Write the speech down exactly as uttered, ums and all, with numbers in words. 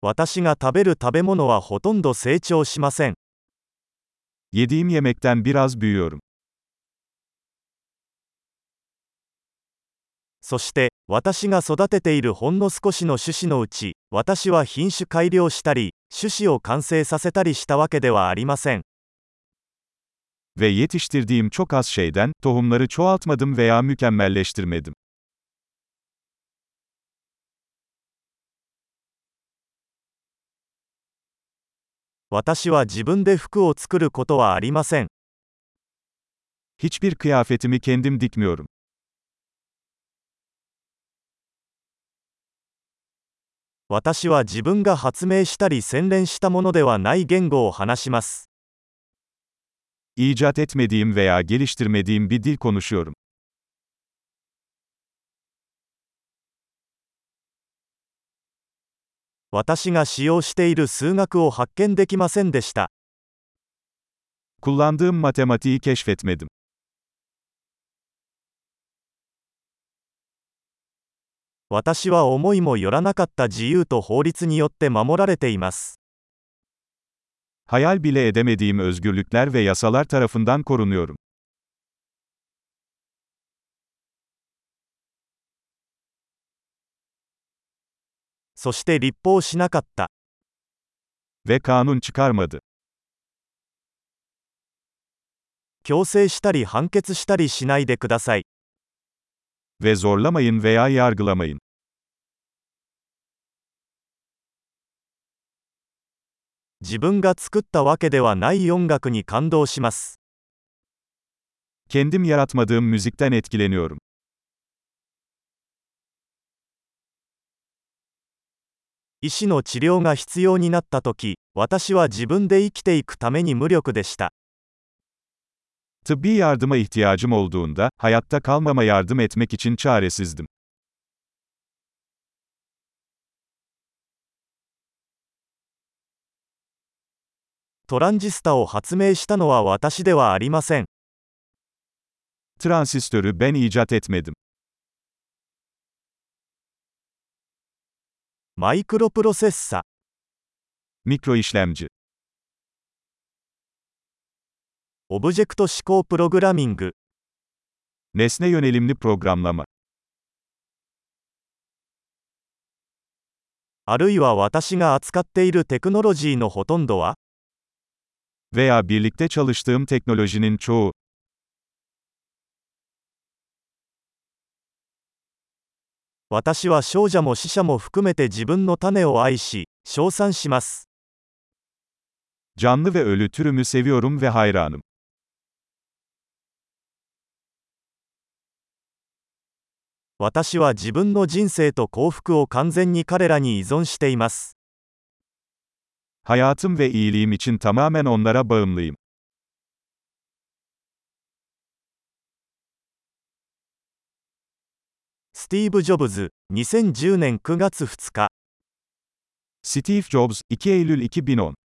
私が食べる食べ物はほとんど成長しません。 Yediğim yemekten biraz büyüyorum. そして、私が育てているほんの少しの種子のうち、私は品種改良したり、種子を完成させたりしたわけではありません。 Ve yetiştirdiğim çok az şeyden, tohumları çoğaltmadım veya mükemmelleştirmedim. 私は自分で服を作ることはありません。 Hiçbir kıyafetimi kendim dikmiyorum. 私は自分が発明したり洗練したものではない言語を話します。 İcat etmediğim veya geliştirmediğim bir dil konuşuyorum. 私が使用している数学を発見できませんでした。 Kullandığım matematiği keşfetmedim. 私は思いもよらなかった自由と法律によって守られています。 Hayal bile edemediğim özgürlükler ve yasalar tarafından korunuyorum. そして立法しなかった。 Ve kanun çıkarmadı. 強制したり判決したりしないでください。 Ve zorlamayın veya yargılamayın. 自分が作ったわけではない音楽に感動します。 Kendim yaratmadığım müzikten etkileniyorum. 医師の治療が必要になったとき、私は自分で生きていくために無力でした。 Tıbbi yardıma ihtiyacım olduğunda, hayatta kalmama yardım etmek için çaresizdim. トランジスタを発明したのは私ではありません。 Transistörü ben icat etmedim. マイクロプロセッサ、 Mikro işlemci. オブジェクト指向プログラミング、 Nesne yönelimli programlama. あるいは私が扱っているテクノロジーのほとんどは、 Veya birlikte çalıştığım teknolojinin çoğu. 私は少者も死者も含めて自分の種を愛し、称賛します。 Canlı ve ölü türümü seviyorum ve hayranım. 私は自分の人生と幸福を完全に彼らに依存しています。 Hayatım ve iyiliğim için tamamen onlara bağımlıyım. スティーブ・ジョブズ、にせんじゅうねんくがつふつか。 Steve Jobs, iki Eylül iki bin on